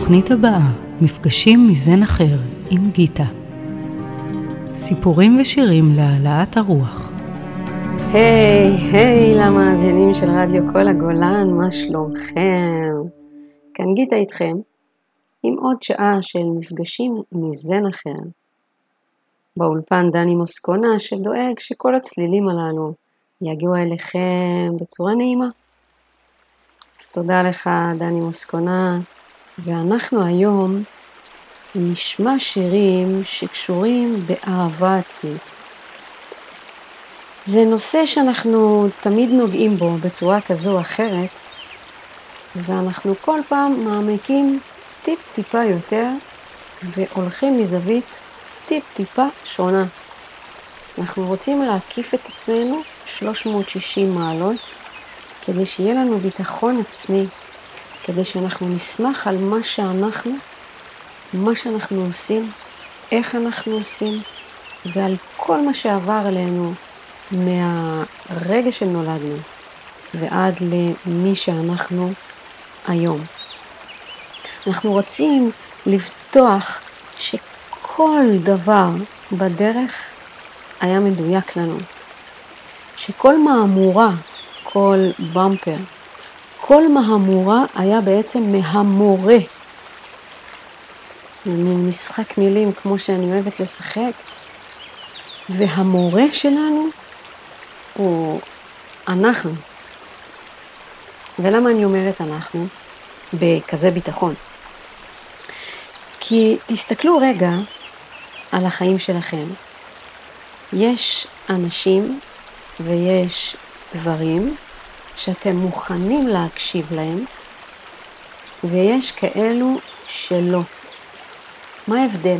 בתוכנית הבאה, מפגשים מזן אחר עם גיטה. סיפורים ושירים להעלאת הרוח. היי למאזינים של רדיו כל הגולן, מה שלומכם? כאן גיטה איתכם, עם עוד שעה של מפגשים מזן אחר. באולפן דני מוסקונה שדואג שכל הצלילים הללו יגיעו אליכם בצורה נעימה. אז תודה לך דני מוסקונה, ואנחנו היום נשמע שירים שקשורים באהבה עצמית. זה נושא שאנחנו תמיד נוגעים בו בצורה כזו או אחרת, ואנחנו כל פעם מעמיקים טיפה יותר, והולכים מזווית טיפה שונה. אנחנו רוצים להקיף את עצמנו 360 מעלות, כדי שיהיה לנו ביטחון עצמי, כדי שאנחנו נשמח על מה שאנחנו עושים, איך אנחנו עושים, ועל כל מה שעבר עלינו מהרגע שנולדנו ועד למי שאנחנו היום. אנחנו רוצים לבטוח שכל דבר בדרך היה מדויק לנו, שכל מהמורה, כל במפר, כל מהמורה היה בעצם מהמורה. מין משחק מילים כמו שאני אוהבת לשחק, והמורה שלנו הוא אנחנו. ולמה אני אומרת אנחנו בכזה ביטחון? כי תסתכלו רגע על החיים שלכם. יש אנשים ויש דברים שאתם מוכנים להקשיב להם, ויש כאלו שלא. מה ההבדל?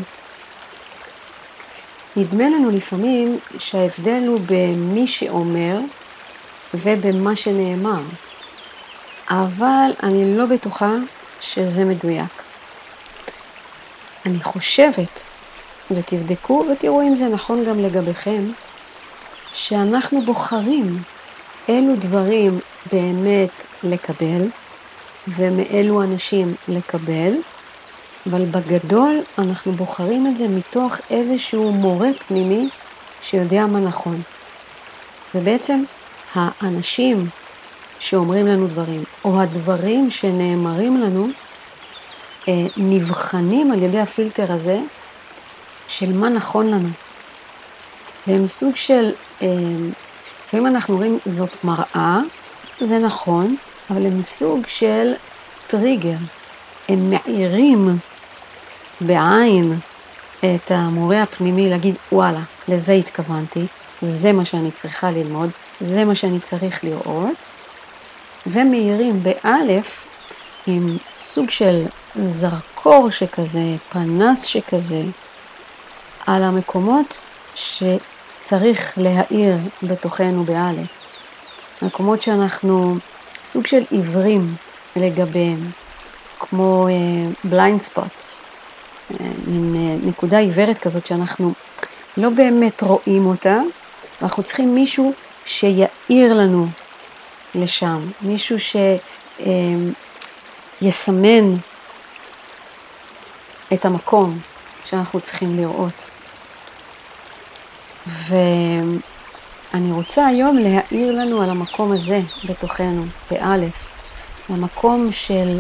נדמה לנו לפעמים שההבדל הוא במי שאומר ובמה שנאמר, אבל אני לא בטוחה שזה מדויק. אני חושבת, ותבדקו ותראו אם זה נכון גם לגביכם, שאנחנו בוחרים אילו דברים באמת לקבל, ומאילו אנשים לקבל, אבל בגדול אנחנו בוחרים את זה מתוך איזשהו מורה פנימי שיודע מה נכון. ובעצם האנשים שאומרים לנו דברים, או הדברים שנאמרים לנו, נבחנים על ידי הפילטר הזה של מה נכון לנו. והם סוג של, לפעמים אנחנו אומרים זאת מראה, זה נכון, אבל הם סוג של טריגר. הם מעירים בעין את המורה הפנימי להגיד, וואלה, לזה התכוונתי, זה מה שאני צריכה ללמוד, זה מה שאני צריך לראות, ומעירים באלף עם סוג של זרקור שכזה, פנס שכזה, על המקומות שצריך להאיר בתוכנו באלף. מקומות שאנחנו סוג של עיוורים לגביהם, כמו blind spots, מין נקודה עיוורת כזאת שאנחנו לא באמת רואים אותה, ואנחנו צריכים מישהו שיעיר לנו לשם, מישהו שיסמן את המקום שאנחנו צריכים לראות. ואני רוצה היום להעיר לנו על המקום הזה בתוכנו, באלף, המקום של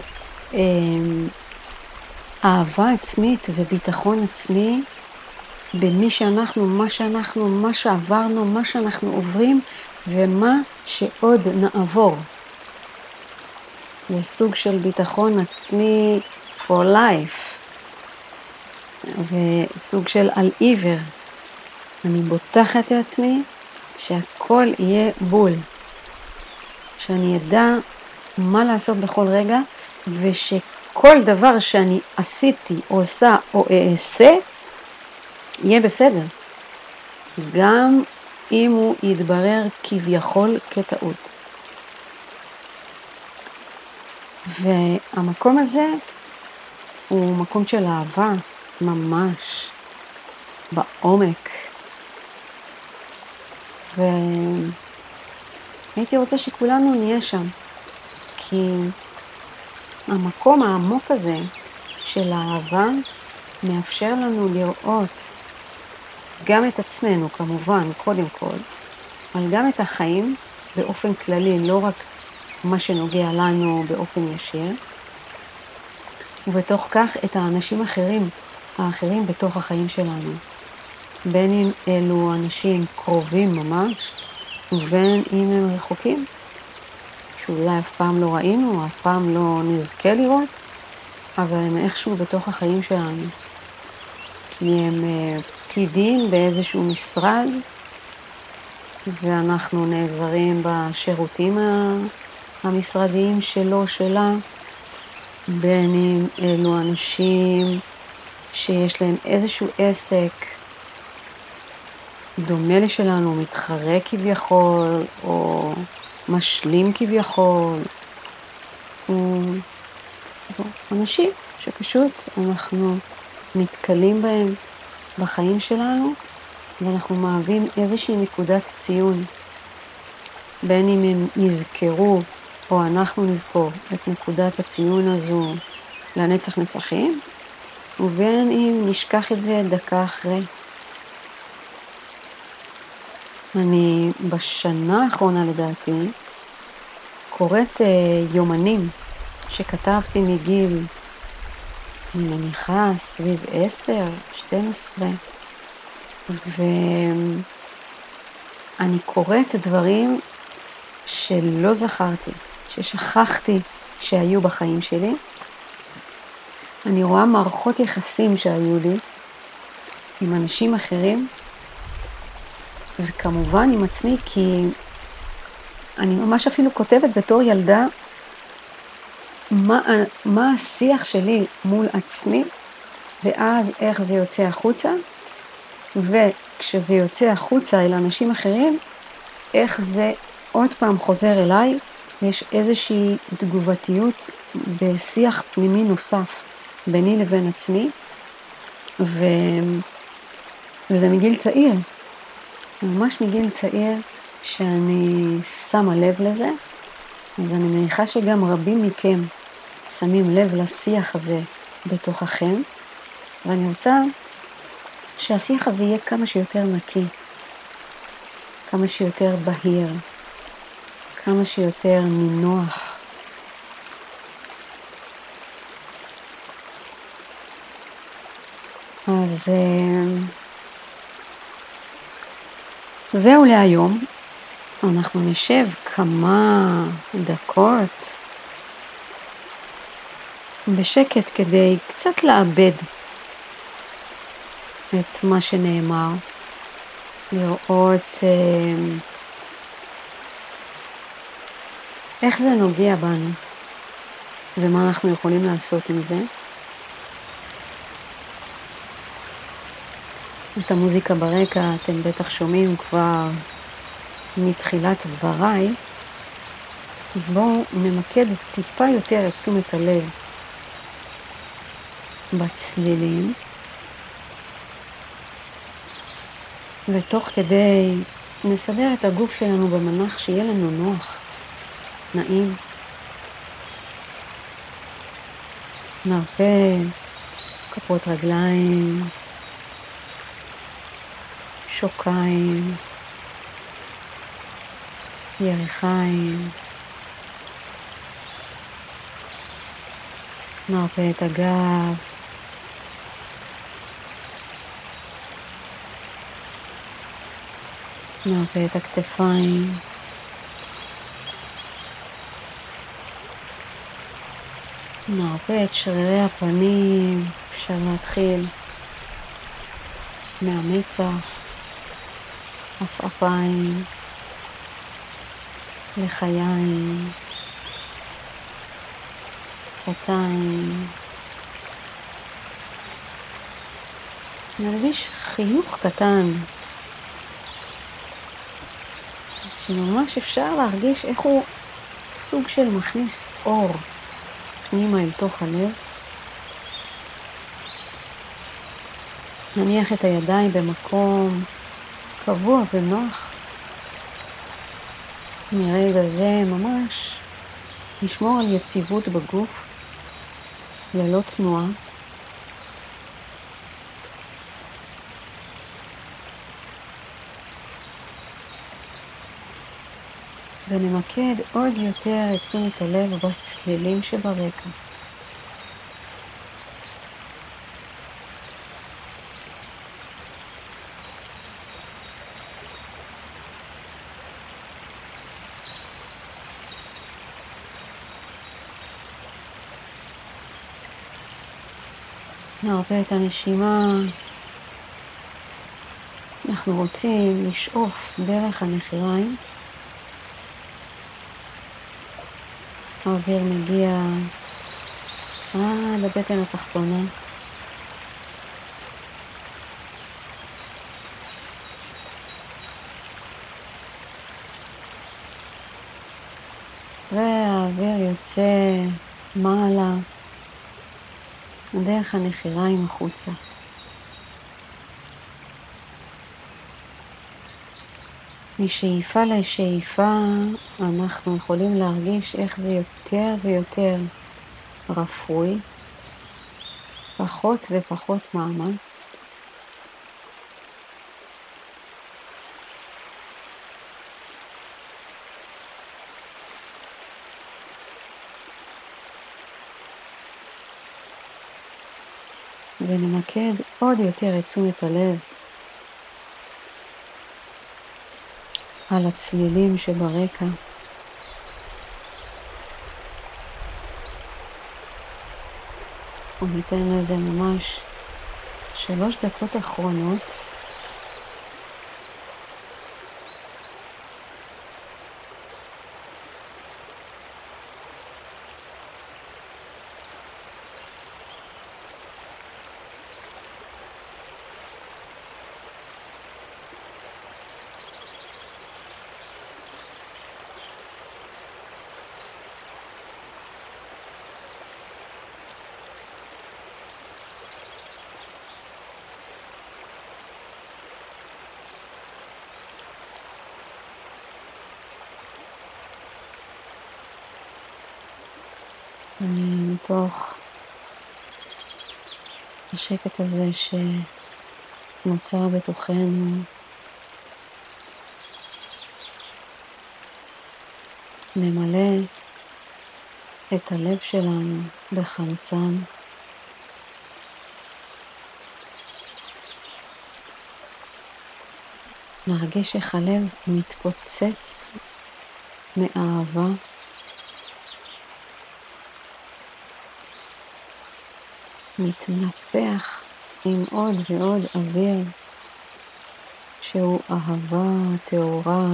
אהבה עצמית וביטחון עצמי במי שאנחנו, מה שעברנו, מה שאנחנו עוברים ומה שעוד נעבור. זה סוג של ביטחון עצמי for life, וסוג של על עיוור. אני בוטחת לעצמי שהכל יהיה בול, שאני ידע מה לעשות בכל רגע, ושכל דבר שאני עשיתי, עושה או אעשה, יהיה בסדר. גם אם הוא יתברר כביכול כטעות. והמקום הזה הוא מקום של אהבה ממש בעומק. והייתי רוצה שכולנו נהיה שם. כי המקום העמוק הזה של האהבה מאפשר לנו לראות גם את עצמנו, כמובן, קודם כל, אבל גם את החיים באופן כללי, לא רק מה שנוגע לנו באופן ישיר, ובתוך כך את האנשים האחרים בתוך החיים שלנו. בין אם אלו אנשים קרובים ממש, ובין אם הם רחוקים, שאולי אף פעם לא ראינו, אף פעם לא נזכה לראות, אבל הם איכשהו בתוך החיים שלנו. כי הם פקידים באיזשהו משרד, ואנחנו נעזרים בשירותים המשרדיים שלו, שלה, בין אם אלו אנשים שיש להם איזשהו עסק דומה לשלנו, מתחרה כביכול, או משלים כביכול, או אנשים שפשוט אנחנו נתקלים בהם בחיים שלנו, ואנחנו מהווים איזושהי נקודת ציון, בין אם הם יזכרו או אנחנו נזכור את נקודת הציון הזו לנצח נצחים, ובין אם נשכח את זה דקה אחרי. אני בשנה האחרונה לדעתי קוראת יומנים שכתבתי מגיל, אני מניחה סביב 10, 12, ואני קוראת דברים שלא זכרתי, ששכחתי שהיו בחיים שלי. אני רואה מערכות יחסים שהיו לי עם אנשים אחרים, וכמובן עם עצמי, כי אני ממש אפילו כותבת בתור ילדה מה השיח שלי מול עצמי, ואז איך זה יוצא החוצה, וכשזה יוצא החוצה אל אנשים אחרים, איך זה עוד פעם חוזר אליי, יש איזושהי תגובתיות בשיח פנימי נוסף ביני לבין עצמי, וזה מגיל צעיר, ממש מגיל צעיר שאני שמה לב לזה, אז אני מניחה שגם רבים מכם שמים לב לשיח הזה בתוככם, ואני רוצה שהשיח הזה יהיה כמה שיותר נקי, כמה שיותר בהיר, כמה שיותר נינוח. אז זהו להיום. אנחנו נשב כמה דקות בשקט כדי קצת לאבד את מה שנאמר, לראות איך זה נוגע בנו ומה אנחנו יכולים לעשות עם זה. את המוזיקה ברקע אתם בטח שומעים כבר מתחילת דבריי, אז בואו נמקד טיפה יותר את תשומת הלב בצלילים, ותוך כדי נסדר את הגוף שלנו במנח שיהיה לנו נוח, נעים. נרפה כפות רגליים, שוקיים, ירכיים. נרפה את הגב, נרפה את הכתפיים, נרפה את שרירי הפנים. אפשר להתחיל מהמצח, עפעפיים, לחיים, שפתיים. נרגיש חיוך קטן, שממש אפשר להרגיש איך הוא סוג של מכניס אור פנימה אל תוך הלב. נניח את הידיים במקום קבוע ונוח. מרגע זה ממש נשמור על יציבות בגוף, ללא תנועה. ונמקד עוד יותר את תשומת הלב בצלילים שברקע. נרפה את הנשימה. אנחנו רוצים לשאוף דרך הנחיריים. האוויר מגיע עד הבטן התחתונה. והאוויר יוצא מעלה דרך הנחיריים החוצה. משאיפה לשאיפה אנחנו יכולים להרגיש איך זה יותר ויותר רפוי, פחות ופחות מאמץ. ונמקד עוד יותר את תשומת הלב על הצלילים שברקע. וניתן לזה ממש 3 דקות אחרונות. מתוך השקט הזה שנוצר בתוכנו, נמלא את הלב שלנו בחמצן. נרגיש איך הלב מתפוצץ מאהבה. מתנפח עם עוד ועוד אוויר שהוא אהבה טהורה.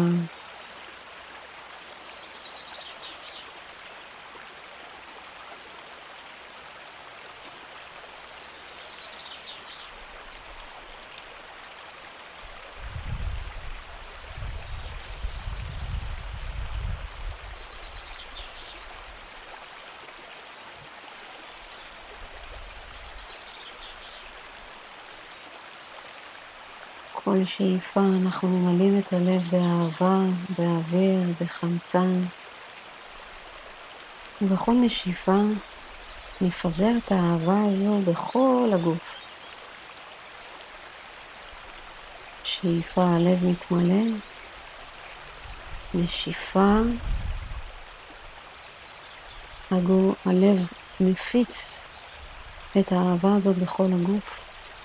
כל שאיפה אנחנו ממלאים את הלב באהבה, באוויר, בחמצן. ובכל נשיפה נפזר את האהבה הזו בכל הגוף. שאיפה הלב מתמלא, נשיפה הלב מפיץ את האהבה הזאת בכל הגוף.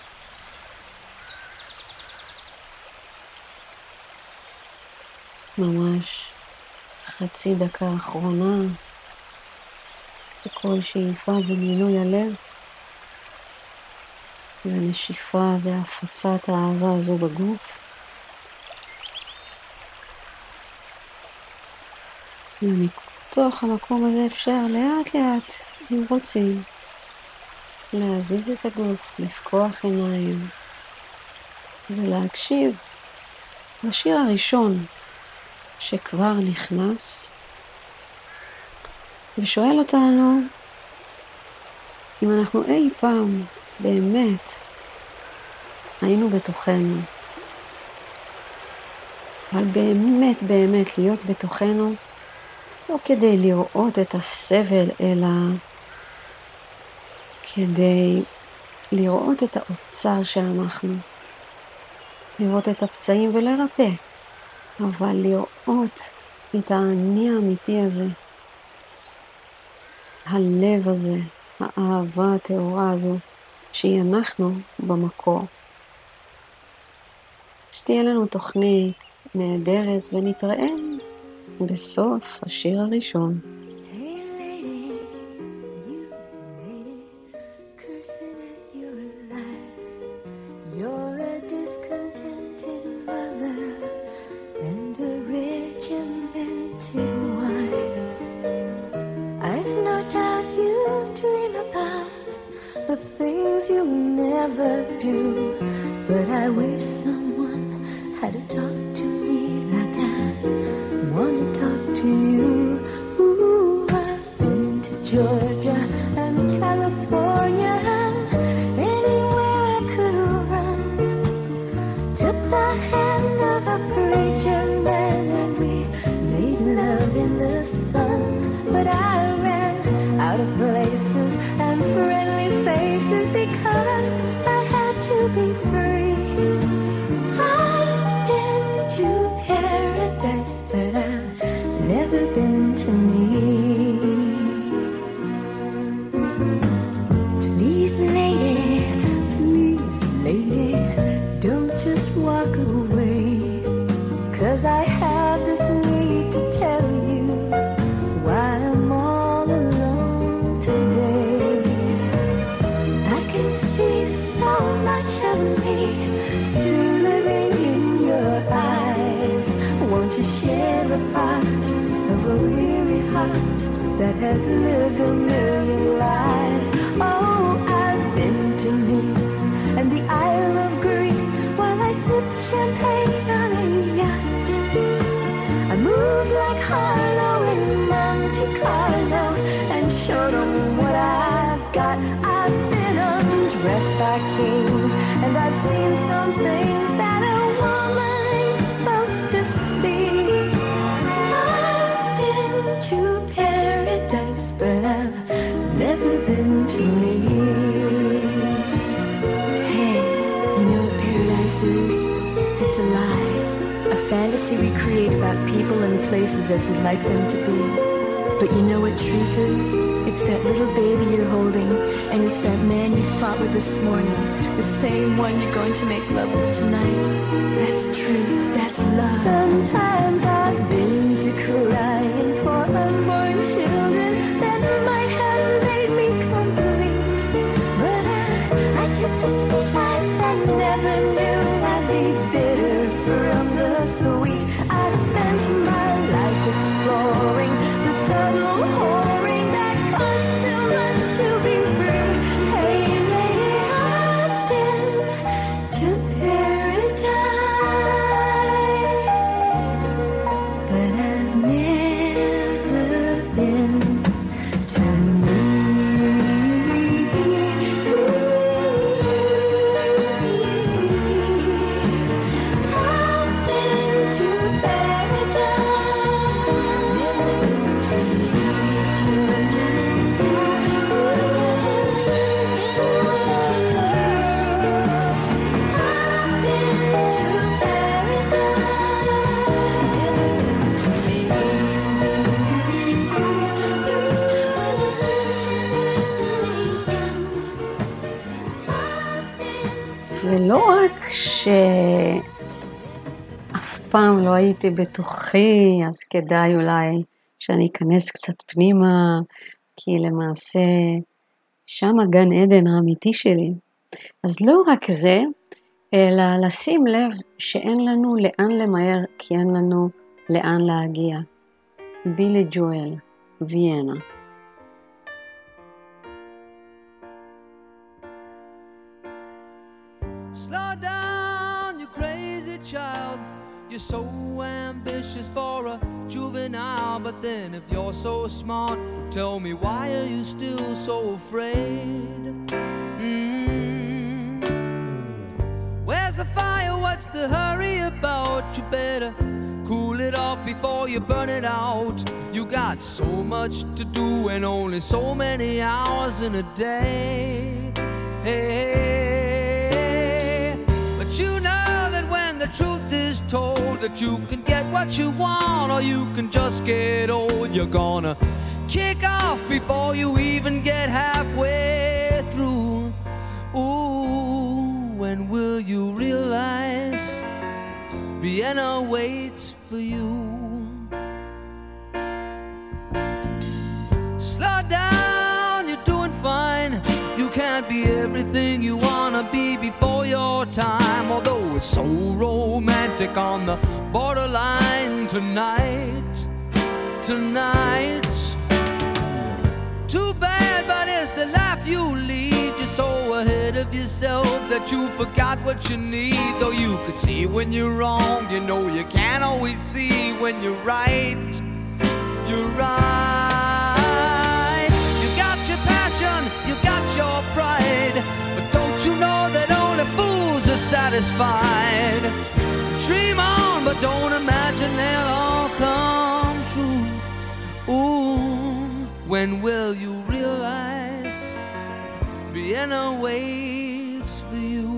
ממש חצי דקה אחרונה, וכל שאיפה זה מילוי הלב, והנשיפה זה הפצת האהבה הזו בגוף. ומתוך המקום הזה אפשר לאט לאט, אם רוצים, להזיז את הגוף, לפקוח עיניים, ולהקשיב לשיר הראשון שכבר נכנס, ושואל אותנו אם אנחנו אי פעם באמת היינו בתוכנו. אבל באמת באמת להיות בתוכנו, לא כדי לראות את הסבל, אלא כדי לראות את האוצר שאנחנו, לראות את הפצעים ולרפא, אבל לראות את האני האמיתי הזה, הלב הזה, האהבה הטהורה הזו, שהיא אנחנו במקור. שתהיה לנו תוכנית נהדרת, ונתראה בסוף השיר הראשון. But I wish someone had to talk to me like I want to talk to you. Ooh, I've been to Georgia and California and anywhere I could run. Took the hand of a preacher man and we made love in the sun. But I ran out of places and friendly faces because I had to be free. I've been to paradise, but I've never been to me. Please, lady, don't just walk away, 'cause I have this need to tell you why I'm all alone today. I can see so much of me still living in your eyes. Won't you share a part of a weary heart that has lived a million lives? Oh, I've been to Nice and the Isle of Greece while I sipped champagne on a yacht. I moved like Harlow in Monte Carlo and showed them what I've got. I've been undressed by kings and I've seen some things that a woman ain't supposed to see. I've been to paradise, but I've never been to me. Hey, you know what paradise is? It's a lie, a fantasy we create about people and places as we'd like them to be. But you know what truth is? It's that little baby you're holding, and it's that man you fought with this morning, the same one you're going to make love with tonight. That's true, that's love. Sometimes I've been to crying for unborn children that might have made me complete. But I took the sweet life and never knew I'd be bitter from the sweet. I spent my life exploring the subtle whoring that costs too much to be free. Hey, lady, I've been to paradise, but I've never been to me. I've been to paradise, never been to ולא רק שאף פעם לא הייתי בתוכי, אז כדאי אולי שאני אכנס קצת פנימה, כי למעשה שם הגן עדן האמיתי שלי. אז לא רק זה, אלא לשים לב שאין לנו לאן למהר, כי אין לנו לאן להגיע. בילי ג'ואל, ויינה. Slow down, you crazy child. You're so ambitious for a juvenile. But then if you're so smart, tell me, why are you still so afraid? Where's the fire? What's the hurry about? You better cool it off before you burn it out. You got so much to do and only so many hours in a day. Hey, but you know that when the truth is told that you can get what you want or you can just get old. You're gonna kick off before you even get halfway through. Ooh, when will you realize Vienna waits for you? Slow down, you're doing fine. You can't be everything you wanna be before your time. Although it's so romantic on the borderline tonight. Too bad, but it's the life you lead. You're so ahead of yourself that you forgot what you need. Though you could see when you're wrong, you know you can't always see when you're right. You're right. You got your passion, you got your pride, but don't you know that only fools are satisfied? Dream on, but don't imagine they'll all come true. Ooh, when will you realize Vienna waits for you?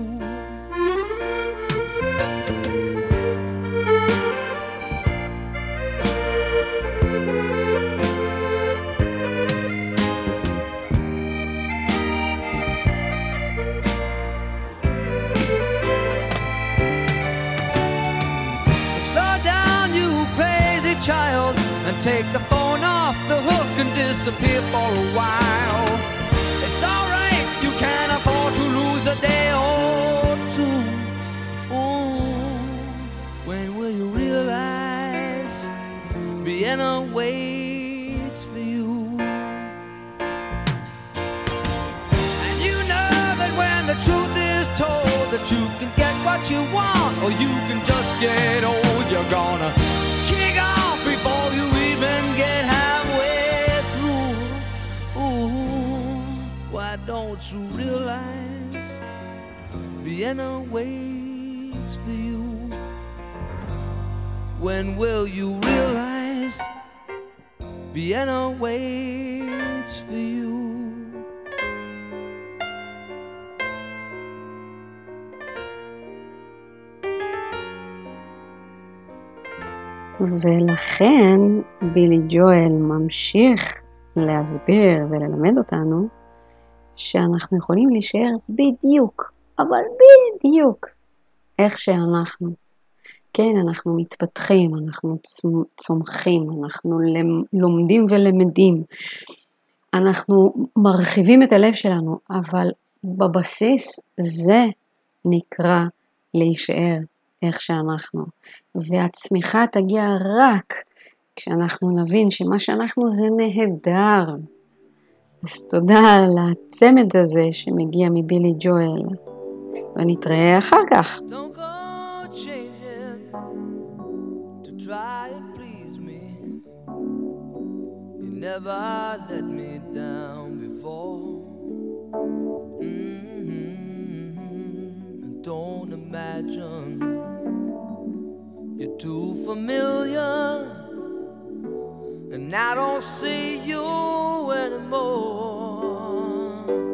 Child, and take the phone off the hook and disappear for a while. It's alright, you can't afford to lose a day or two. Ooh, when will you realize Vienna waits for you? And you know that when the truth is told that you can get what you want or you can just get old, you're gonna kick off before you even get halfway through. Ooh, why don't you realize Vienna waits for you? When will you realize Vienna waits for you? ולכן בילי ג'ואל ממשיך להסביר וללמד אותנו שאנחנו יכולים להישאר בדיוק, אבל בדיוק איך שאנחנו. כן, אנחנו מתפתחים, אנחנו צומחים, אנחנו לומדים ולמדים, אנחנו מרחיבים את הלב שלנו, אבל בבסיס זה נקרא להישאר איך שאנחנו. והצמיחה תגיע רק כשאנחנו נבין שמה שאנחנו זה נהדר. אז תודה על הצמד הזה שמגיע מבילי ג'ואל. ונתראה אחר כך. Don't go changing to try and please me. You never let me down before. Don't imagine you're too familiar, and I don't see you anymore.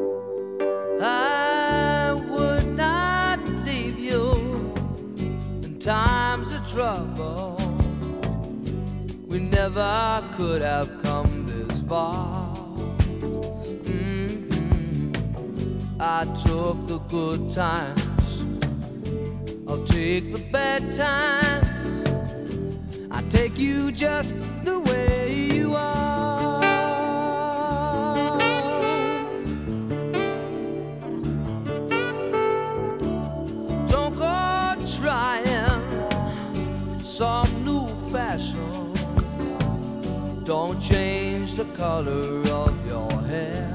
I would not leave you in times of trouble. We never could have come this far. I took the good times, I'll take the bad times. I take you just the way you are. Don't go trying some new fashion. Don't change the color of your hair.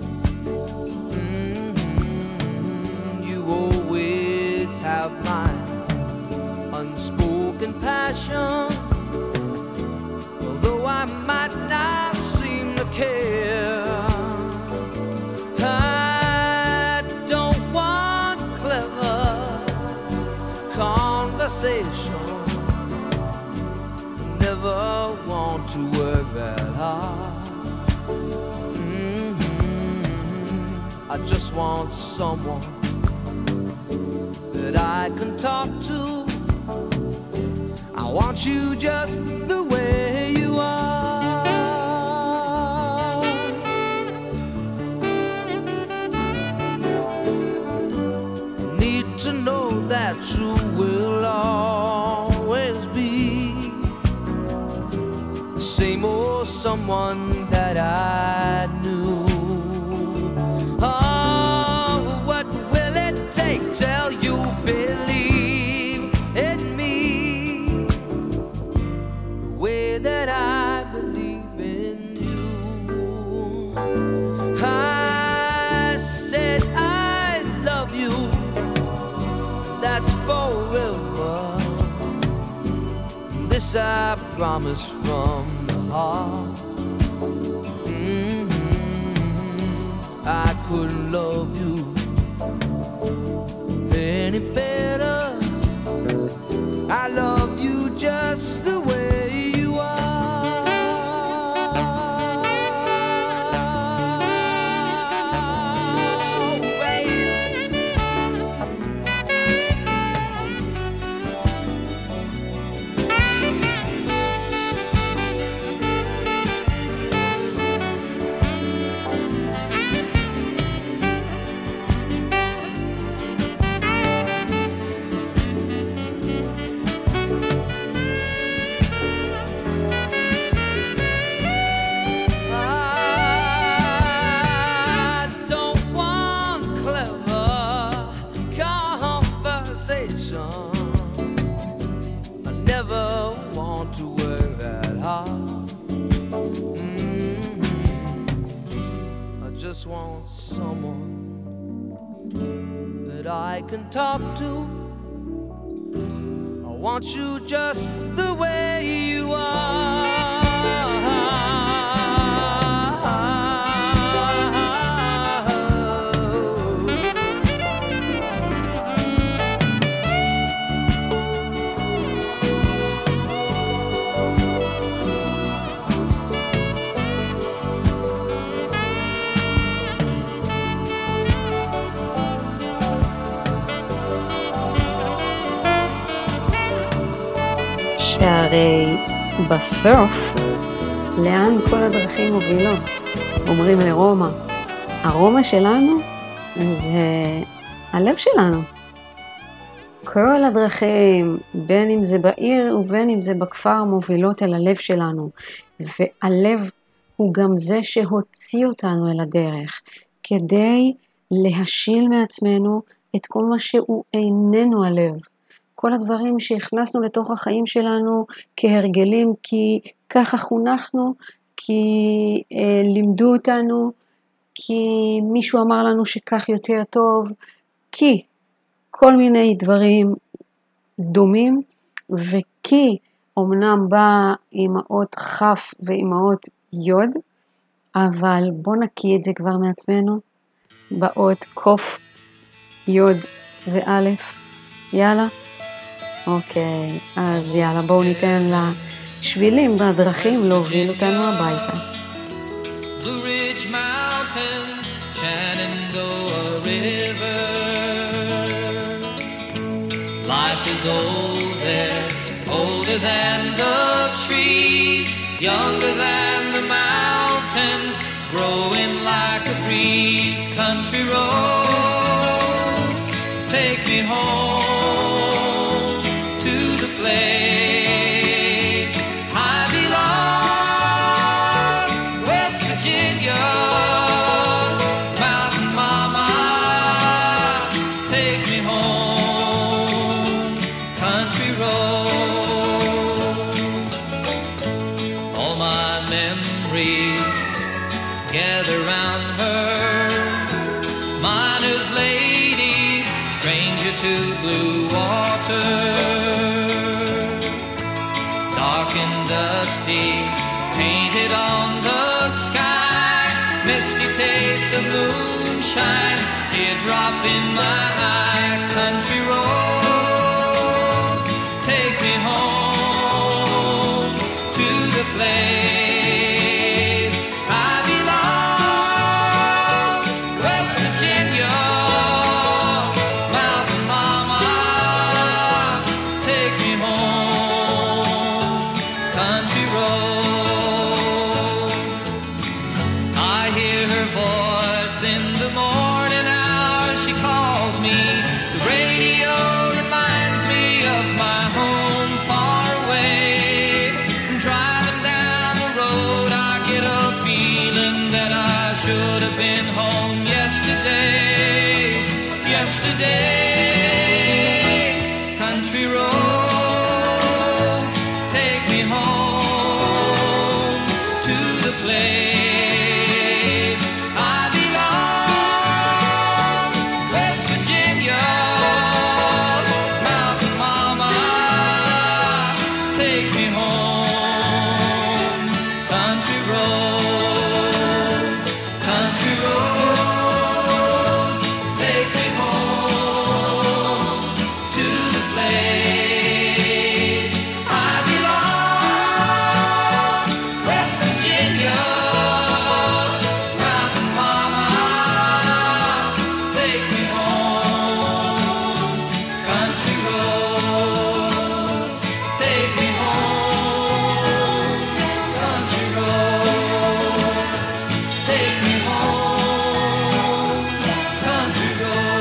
You always have my unspoken passion, although I might not seem to care. I don't want clever conversation, never want to work that hard. I just want someone that I can talk to want you just the way you are. Need to know that you will always be the same old someone that I knew. Oh, what will it take till you believe in me the way that I believe in you? I said I love you, that's forever. This I promise from the heart. I couldn't love you any better. I love you just the way you are. Want someone that I can talk to. I want you just the way you are. שהרי בסוף, לאן כל הדרכים מובילות? אומרים לרומא. הרומא שלנו זה הלב שלנו. כל הדרכים, בין אם זה בעיר ובין אם זה בכפר, מובילות אל הלב שלנו. והלב הוא גם זה שהוציא אותנו אל הדרך, כדי להשיל מעצמנו את כל מה שהוא איננו הלב. כל הדברים שהכנסנו לתוך החיים שלנו כהרגלים, כי ככה חונכנו, כי לימדו אותנו, כי מישהו אמר לנו שכך יותר טוב, כי כל מיני דברים דומים, וכי אמנם בא עם האות חף ועם האות יוד, אבל בוא נקיא את זה כבר מעצמנו, באות קוף, יוד ואלף. יאללה? אוקיי, אז יאללה, בואו ניתן לשבילים והדרכים להוביל אותנו הביתה. Blue Ridge Mountains, Shenandoah River. Life is old there, older than the trees, younger than the mountains, growing like a breeze. Country roads, take me home to the place I belong, West Virginia, Mountain Mama, take me home, country roads. All my memories gather round her, miner's lady, stranger to blue water, dark and dusty, painted on the sky, misty taste of moonshine, teardrop in my eye. Country roads, take me home to the place I belong, West Virginia, Mountain Mama, take me home. in the morning hours she calls me. The radio reminds me of my home far away. Driving down the road I get a feeling that I should have been home yesterday. Country roads take me home to the place I belong. West Virginia, Mountain Mama, take me home. Country roads, take me home to the place I belong. West Virginia, Mountain Mama, take me home. Country roads, take me home. Country roads, take me home. Country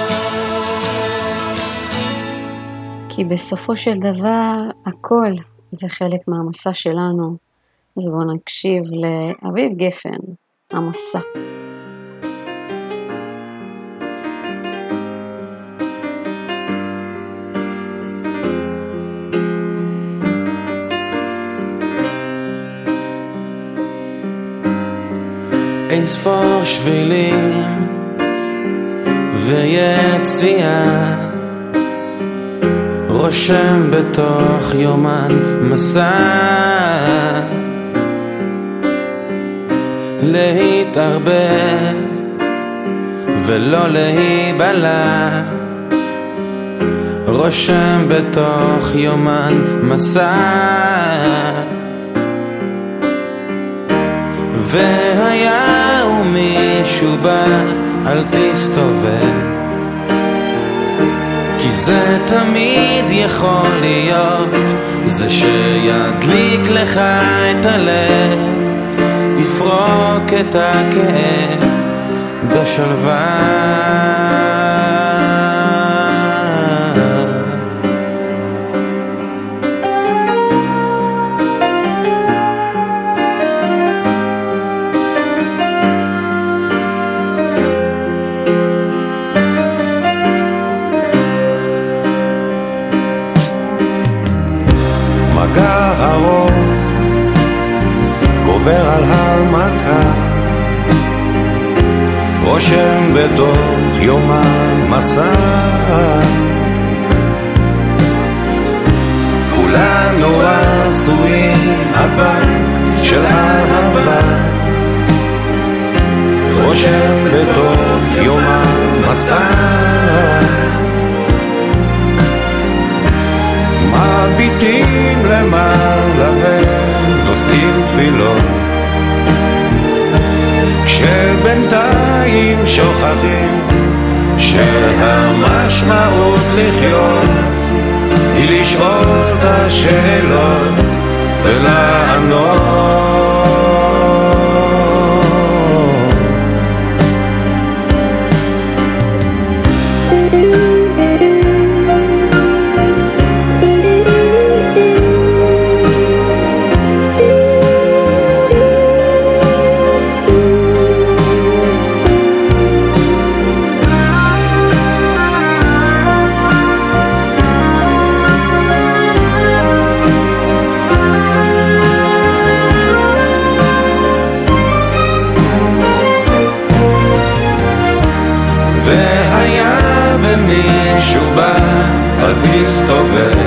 roads. כי בסופו של דבר הכל זה חלק מהמסע שלנו. אז בואו נקשיב לאביב גפן, המסע. אין ספור שבילים ויציאה, רושם בתוך יומן מסע, להתערבב ולא להיבלע, רושם בתוך יומן מסע. והיה ומישהו בא, אל תסתובב, כי זה תמיד יכול להיות, זה שידליק לך את הלב, יפרוק את הכאב בשלווה. מגע ארוך גובר על המכה, רושם בתוך יומן מסע, כולנו עשויים אבק של אהבה, רושם בתוך יומן מסע. מביטים למעלה ונושאים תפילות, כשבינתיים שוכחים שהמשמעות לחיות היא לשאול את השאלות ולענות. מישהו בא, אל תסתובב,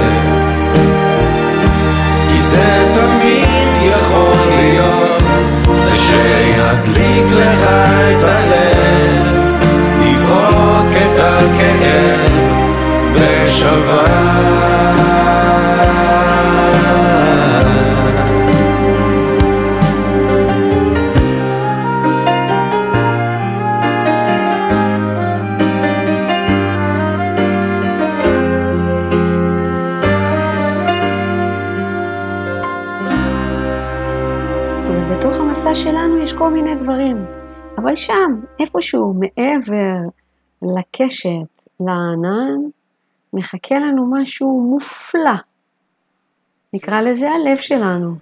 כי זה תמיד יכול להיות, זה שידליק לך את הלב, יפרוק את הכאב בשלווה. במסע שלנו יש כל מיני דברים, אבל שם, איפשהו מעבר לקשת, לענן, מחכה לנו משהו מופלא. נקרא לזה הלב שלנו.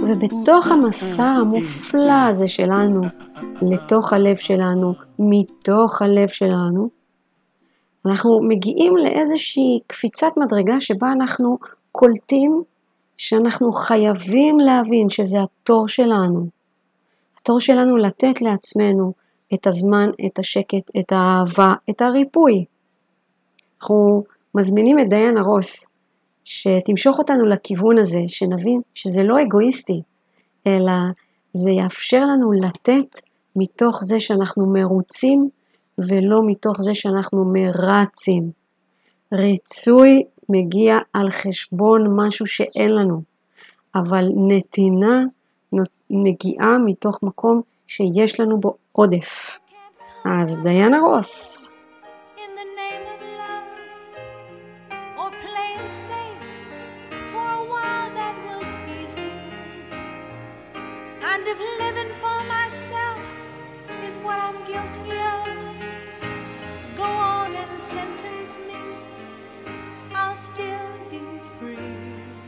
ובתוך המסע המופלא הזה שלנו, לתוך הלב שלנו, מתוך הלב שלנו, אנחנו מגיעים לאיזושהי קפיצת מדרגה שבה אנחנו קולטים שאנחנו חייבים להבין שזה התור שלנו. התור שלנו לתת לעצמנו את הזמן, את השקט, את האהבה, את הריפוי. אנחנו מזמינים את דיין הרוס שתמשוך אותנו לכיוון הזה, שנבין שזה לא אגואיסטי, אלא זה יאפשר לנו לתת מתוך זה שאנחנו מרוצים, ולא מתוך זה שאנחנו מרצים. ריצוי מגיע על חשבון משהו שאין לנו, אבל נתינה מגיעה מתוך מקום שיש לנו בו עודף. אז דיין הרוס. And if living for myself is what I'm guilty of, go on and sentence me, I'll still be free.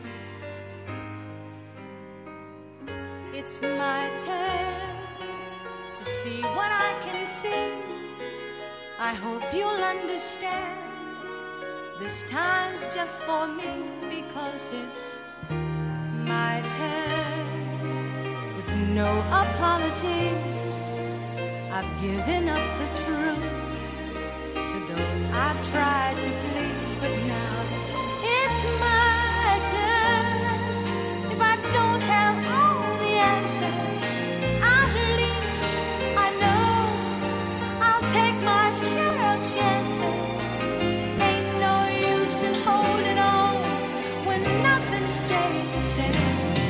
It's my turn to see what I can see. I hope you'll understand. This time's just for me because it's my turn. No apologies, I've given up the truth to those I've tried to please, but now it's my turn. If I don't have all the answers, at least I know I'll take my share of chances. Ain't no use in holding on when nothing stays the same.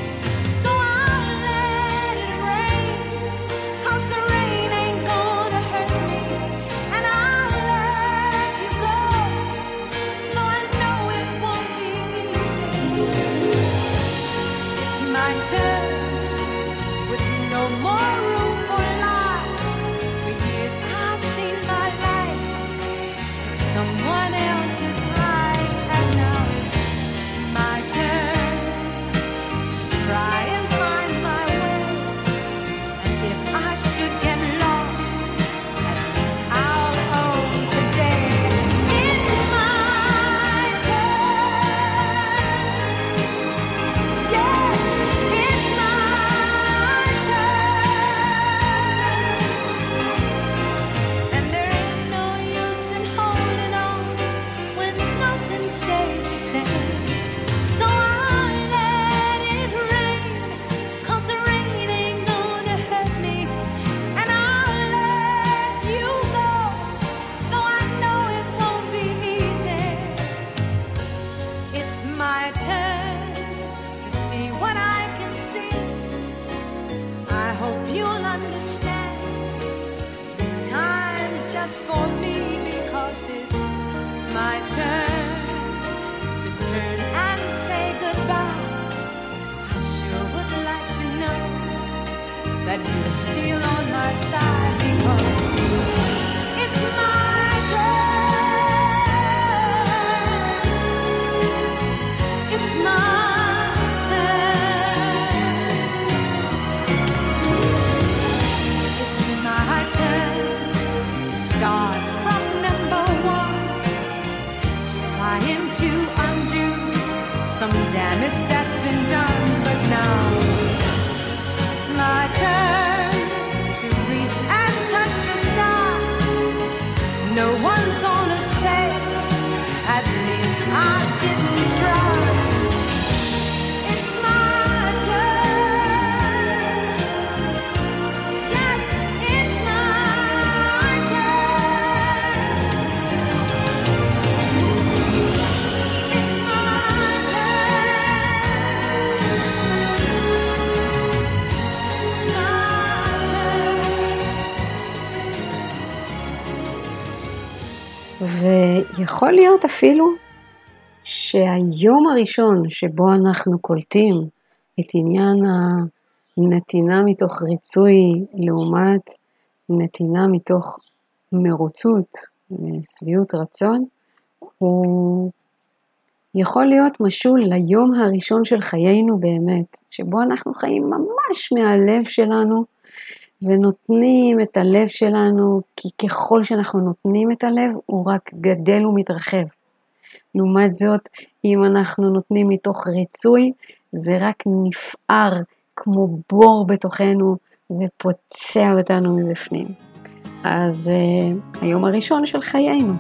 That you're still on my side because it's my turn. It's my turn. It's my turn to start from number one, trying to undo some damage that's been done, but now my turn to reach and touch the sky. No one's gonna say, at least I didn't try. It's my turn. Yes, it's my turn. It's my ויכול להיות אפילו שהיום הראשון שבו אנחנו קולטים את עניין הנתינה מתוך ריצוי לעומת נתינה מתוך מרוצות ושביעות רצון, הוא יכול להיות משול ליום הראשון של חיינו באמת, שבו אנחנו חיים ממש מהלב שלנו, ונותנים את הלב שלנו, כי ככל שאנחנו נותנים את הלב, הוא רק גדל ומתרחב. לעומת זאת, אם אנחנו נותנים מתוך ריצוי, זה רק נפער כמו בור בתוכנו, ופוצע אותנו מבפנים. אז היום הראשון של חיינו.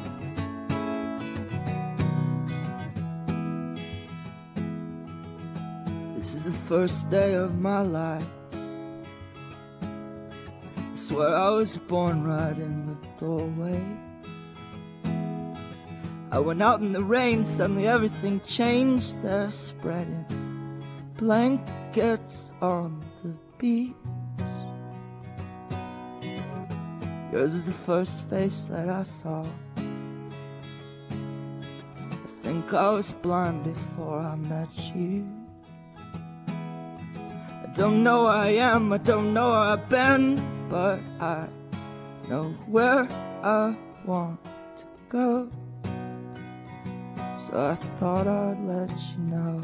This is the first day of my life. I swear I was born right in the doorway. I went out in the rain, suddenly everything changed. They're spreading blankets on the beach. Yours is the first face that I saw. I think I was blind before I met you. I don't know where I am, I don't know where I've been, but I know where I want to go. So I thought I'd let you know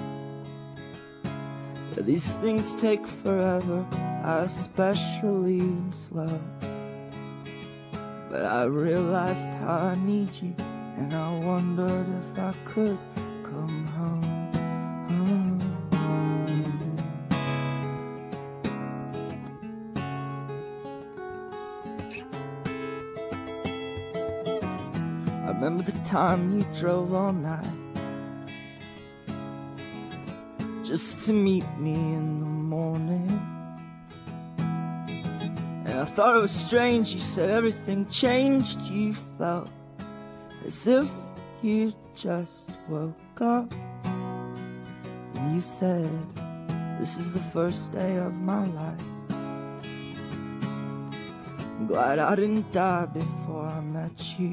that these things take forever, I especially am slow. But I realized how I need you, and I wondered if I could come home. I remember the time you drove all night just to meet me in the morning. And I thought it was strange, you said everything changed. You felt as if you just woke up. And you said, this is the first day of my life. I'm glad I didn't die before I met you.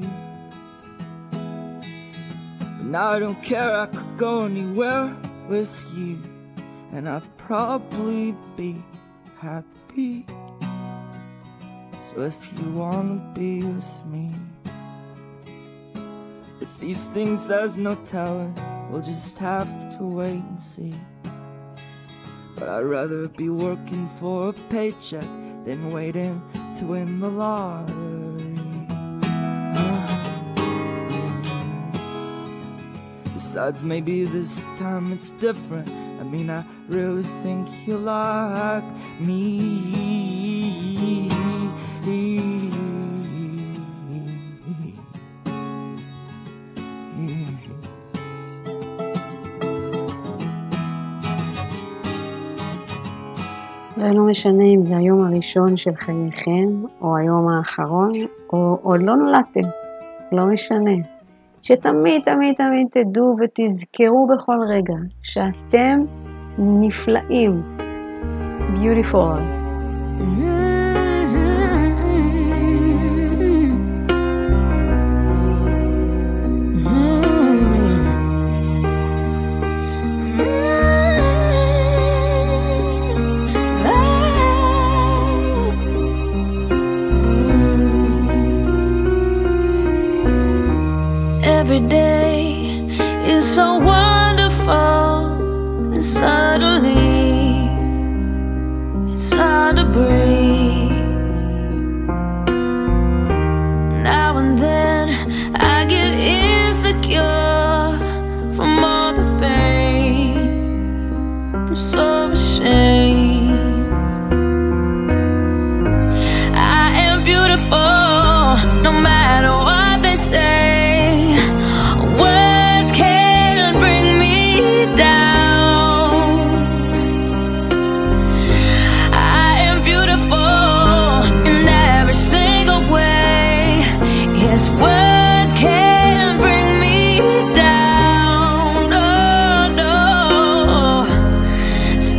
But now I don't care, I could go anywhere with you, and I'd probably be happy. So if you wanna be with me, with these things there's no telling, we'll just have to wait and see. But I'd rather be working for a paycheck than waiting to win the lottery. Besides, maybe this time it's different. I mean, I really think you like me. ולא משנה אם זה היום הראשון של חייכם, או היום האחרון, או עוד לא נולדתם, לא משנה. שתמיד תמיד תמיד תדעו ותזכרו בכל רגע שאתם נפלאים. Beautiful. Every day is so wonderful, and suddenly it's hard to breathe. Now and then I get insecure from all the pain. I'm so ashamed. I am beautiful, no matter what they say. Words can't bring me down. I am beautiful in every single way. Yes, words can't bring me down. No, no. So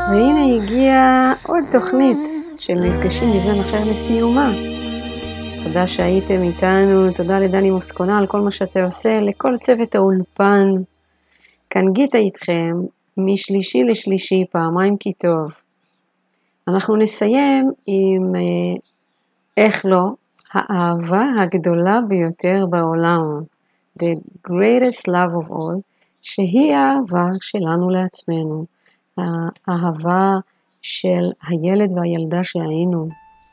והנה הגיעה עוד תוכנית של מפגשים מזן אחר לסיומה. אז תודה שהייתם איתנו, תודה לדני מוסקונה על כל מה שאתה עושה, לכל צוות האולפן. כאן גיטה איתכם, משלישי לשלישי, פעמיים כי טוב. אנחנו נסיים עם, איך לא, האהבה הגדולה ביותר בעולם. The greatest love of all, שהיא האהבה שלנו לעצמנו. האהבה של הילד והילדה שהיינו.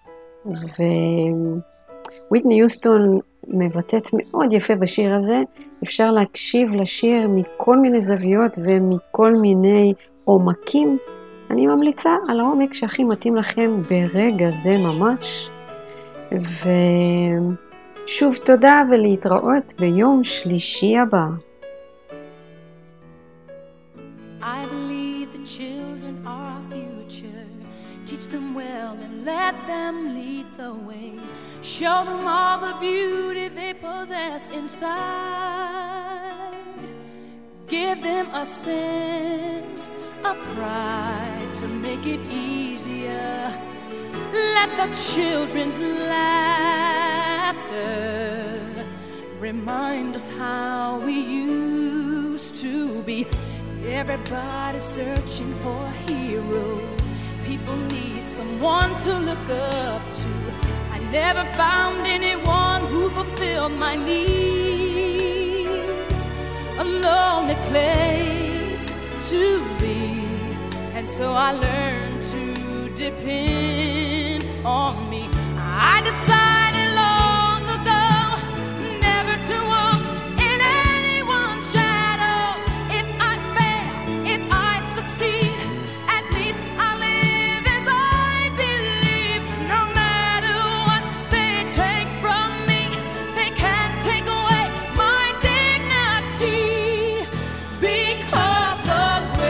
וויטני יוסטון מבטאת מאוד יפה בשיר הזה. אפשר להקשיב לשיר מכל מיני זוויות ומכל מיני עומקים. אני ממליצה על העומק שהכי מתאים לכם ברגע זה ממש. ושוב תודה ולהתראות ביום שלישי הבא. I believe the children are our future. Teach them well and let them lead the way. Show them all the beauty they possess inside. Give them a sense of pride to make it easier. Let the children's laughter remind us how we used to be. Everybody's searching for a hero. People need someone to look up to. I never found anyone who fulfilled my needs. A lonely place to be. And so I learned to depend on me. I decided long ago never to walk in anyone's shadows. If I fail, if I succeed, at least I live as I believe. No matter what they take from me, they can't take away my dignity. Because the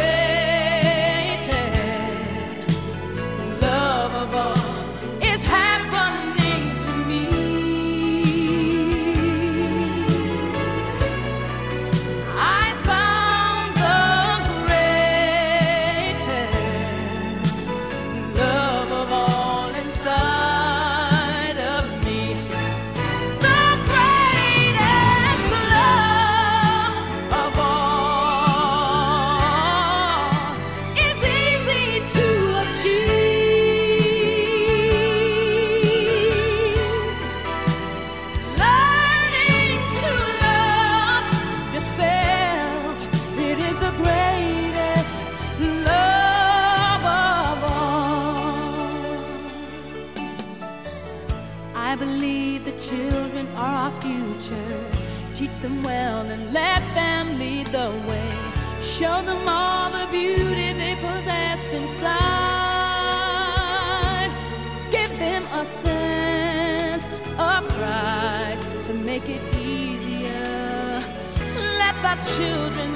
greatest love of all is happening to me. I found the greatest love of all inside of me. The greatest love of all is easy to achieve. Learning to love yourself, it is the greatest love of all. I believe the children are our future. Teach them well and let them lead the way. Show them all the beauty they possess inside. Give them a sense of pride to make it easier. Let the children